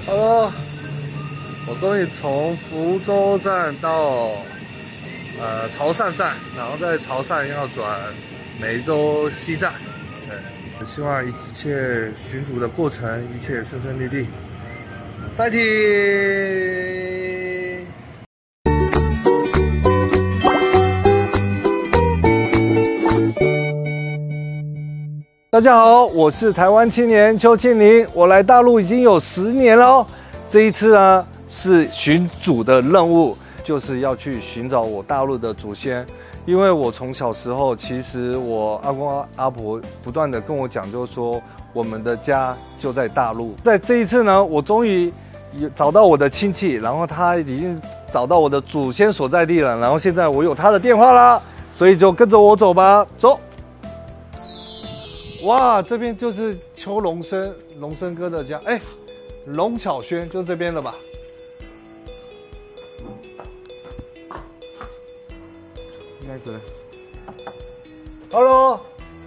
Hello，我终于从福州站到潮汕站，然后在潮汕要转梅州西站。对，希望一切寻主的过程一切顺顺利利。fighting！大家好，我是台湾青年邱庆林，我来大陆已经有10年了哦。这一次呢是寻祖的任务，就是要去寻找我大陆的祖先。因为我从小时候，其实我阿公阿婆不断的跟我讲，就是说我们的家就在大陆。在这一次呢，我终于找到我的亲戚，然后他已经找到我的祖先所在地了，然后现在我有他的电话啦，所以就跟着我走吧，走。哇，这边就是邱龙生哥的家，哎，龙巧轩就这边了吧？应该是。Hello，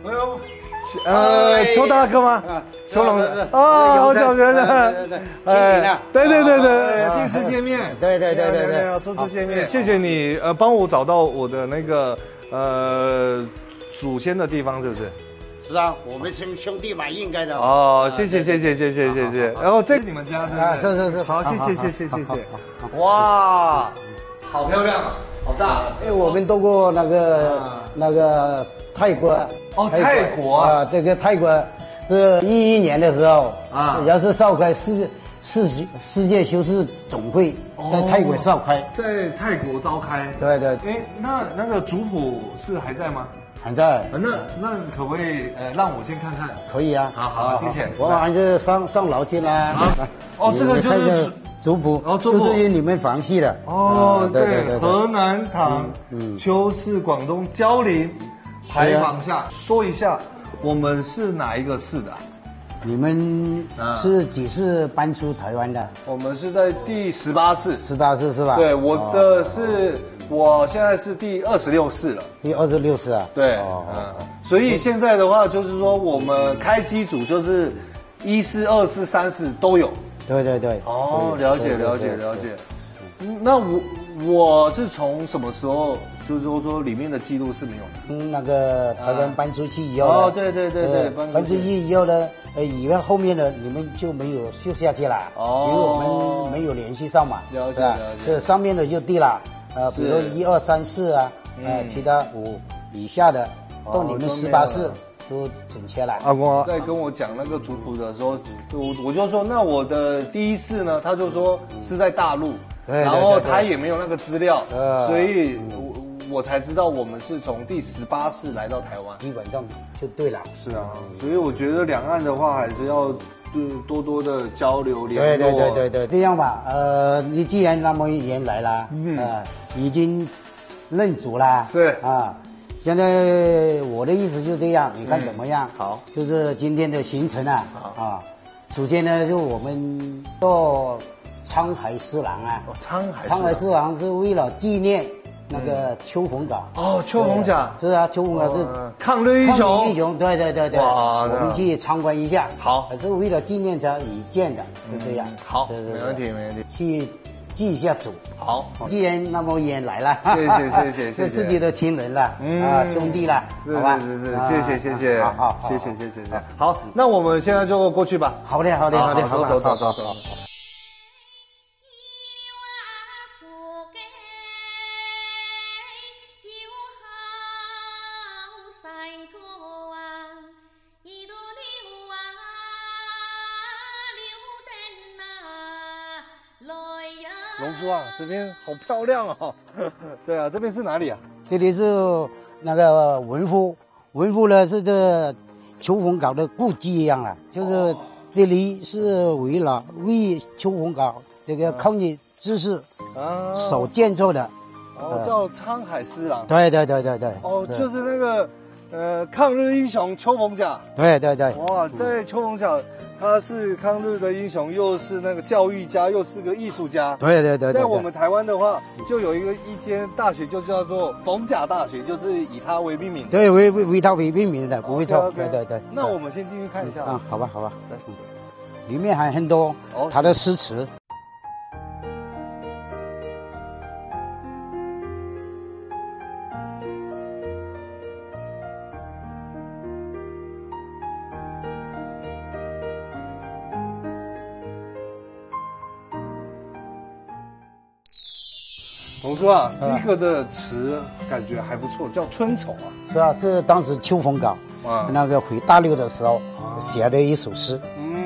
邱大哥吗？邱龙啊，好久不见了。哎，对，第一次见面。对，初次见面，谢谢你帮我找到我的那个祖先的地方，是不是？ 是啊，我们兄弟嘛，应该的。 哦，谢谢。然后这是你们家啊，是。 好，谢谢。哇，好漂亮啊，好大。 因为我们到过那个泰国。 哦，泰国啊， 这个泰国是11年的时候啊，也是召开世界修士总会在泰国召开， 在泰国召开。对。哎，那个族谱是还在吗？ 还在。 那可不可以让我先看看？ 可以啊。 好，谢谢。 我还是上楼去啦。 哦，这个就是族谱，就是你们房系的。 哦，对，河南堂邱氏广东蕉林牌坊下。说一下，我们是哪一个市的？ 你们是几次搬出台湾的？ 我们是在第18市。18 市是吧？ 对，我现在是第26市了。 第26市啊？ 对，所以现在的话就是说，我们开机组就是1市、2市、3市都有。对。哦，了解。那我是从什么时候？就是说里面的记录是没有的。 那个台湾搬出去以后。 哦，对， 搬出去以后呢，以外后面的你们就没有修下去了。哦。因为我们没有联系上嘛。 了解。 这上面的就对了。比如1、2、3、4啊，其他5以下的，到你们18市都准确了。 阿公在跟我讲那个族谱的时候，我就说，那我的第1市呢，他就说是在大陆，然后他也没有那个资料，所以我才知道我们是从第18市来到台湾， 基本上就对了。 是啊，所以我觉得两岸的话还是要多的交流联络。 对，这样吧，你既然那么远来了，已经认祖了， 是啊。现在我的意思就这样，你看怎么样？ 好， 就是今天的行程啊，首先呢，就我们到沧海四郎啊，沧海四郎是为了纪念那个邱逢甲。 哦，邱逢甲是啊，邱逢甲是抗日英雄。 对。 哇， 我们去参观一下。 好， 是为了纪念他以建的，就这样。 好，没问题。 去祭一下祖。 好， 既然那么远来了， 谢谢， 是自己的亲人了，兄弟了，好吧？ 是，谢谢，好，谢谢。好，那我们现在就过去吧。 好的，走。 龙叔啊，这边好漂亮哦。对啊，这边是哪里啊？ 这里是那个文夫呢是这邱逢甲的故居一样了，就是这里是为邱逢甲这个抗日志士所建造的。 叫沧海四郎。 对。 哦，就是那个抗日英雄邱逢甲。对。哇，在邱逢甲。他是抗日的英雄，又是那个教育家，又是个艺术家。 对。 在我们台湾的话，就有一间大学，就叫做逢甲大学，就是以他为命名。 对，为他为命名的，不会错。对。 那我们先进去看一下。 好吧。 里面还很多他的诗词。 董叔啊，这个的词感觉还不错，叫《春愁》啊。 是啊，是当时秋风稿那个回大陆的时候写的一首诗。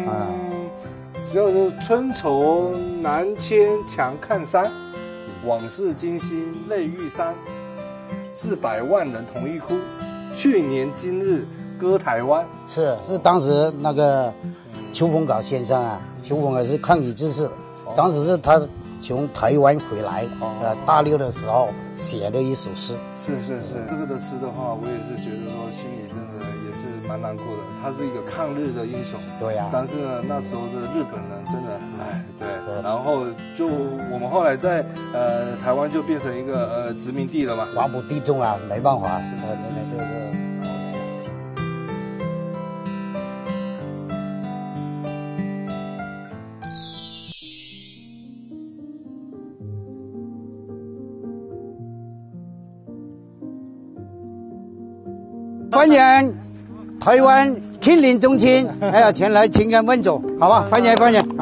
就是春愁南迁强看山，往事惊心泪欲伤，400万人同一哭，去年今日歌台湾。是当时那个邱逢稿先生啊，邱逢稿是抗日志士，当时是他从台湾回来，大陆的时候写的一首诗。 是，这个的诗的话，我也是觉得说心里真的也是蛮难过的。他是一个抗日的英雄， 对呀。 但是呢，那时候的日本人真的，对。然后就我们后来在台湾就变成一个殖民地了嘛， 寡不敌众啊，没办法，欢迎台湾近邻中亲前来情感问主，好吧？欢迎。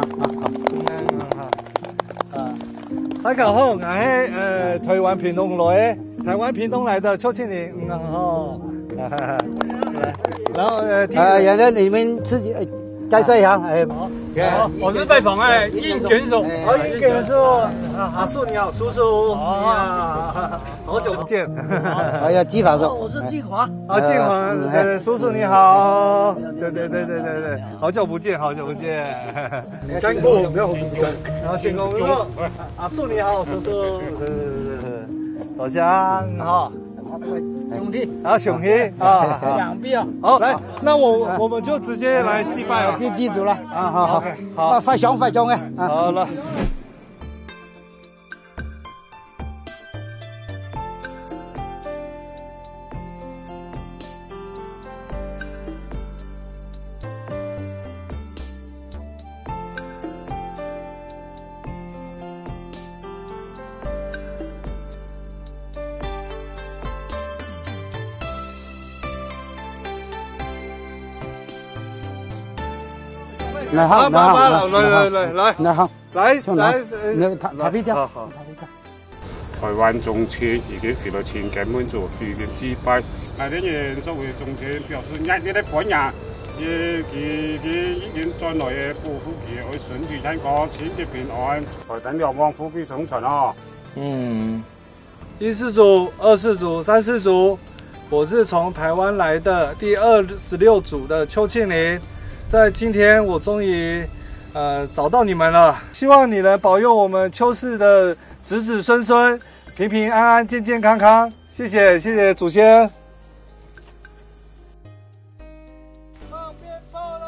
大家好，我是台湾屏东来，台湾屏东来的邱庆龄，然后原来你们自己介绍一下， 好，我是拜访应卷手， 应卷手，阿树你好，叔叔，好久不见， 季法手， 我是季华， 季华，叔叔你好，对，好久不见， 干过没有？ 然后先公公，阿树你好，叔叔，老乡哈。 兄弟， 兄弟两臂啊！ 好，来，那我们就直接来祭拜了， 就祭祖了好，发奖好了。 来，好， 来， 他比較好。 台灣中車已經回到前根本做預見祭拜，那啲人作為中車表示壓力的本人，佢已經在內嘅保護佢，愛順住人個錢嘅平安，台等兩旺富貴生存哦。 第4組、24組、34組，我是從台灣來的第26組的邱慶齡。在今天，我終於找到你們了。希望你能保佑我們邱氏的子子孫孫平平安安、健健康康。謝謝祖先。放鞭炮嘍！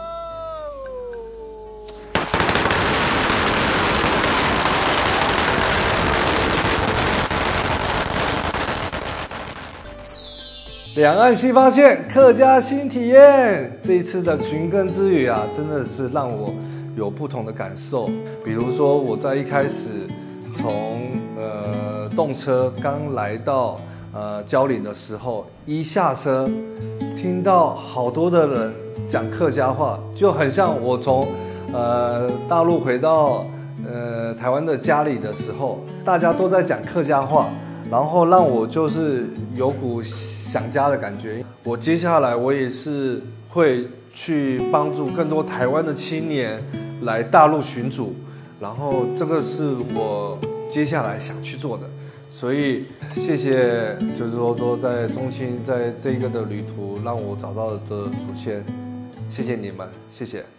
两岸新发现，客家新体验。这一次的寻根之旅啊，真的是让我有不同的感受。比如说，我在一开始从动车刚来到蕉岭的时候，一下车听到好多的人讲客家话，就很像我从大陆回到台湾的家里的时候，大家都在讲客家话，然后让我就是有股想家的感觉。我接下来我也是会去帮助更多台湾的青年来大陆寻祖，然后这个是我接下来想去做的。所以谢谢，就是说在中青在这个的旅途让我找到的祖先，谢谢你们，谢谢。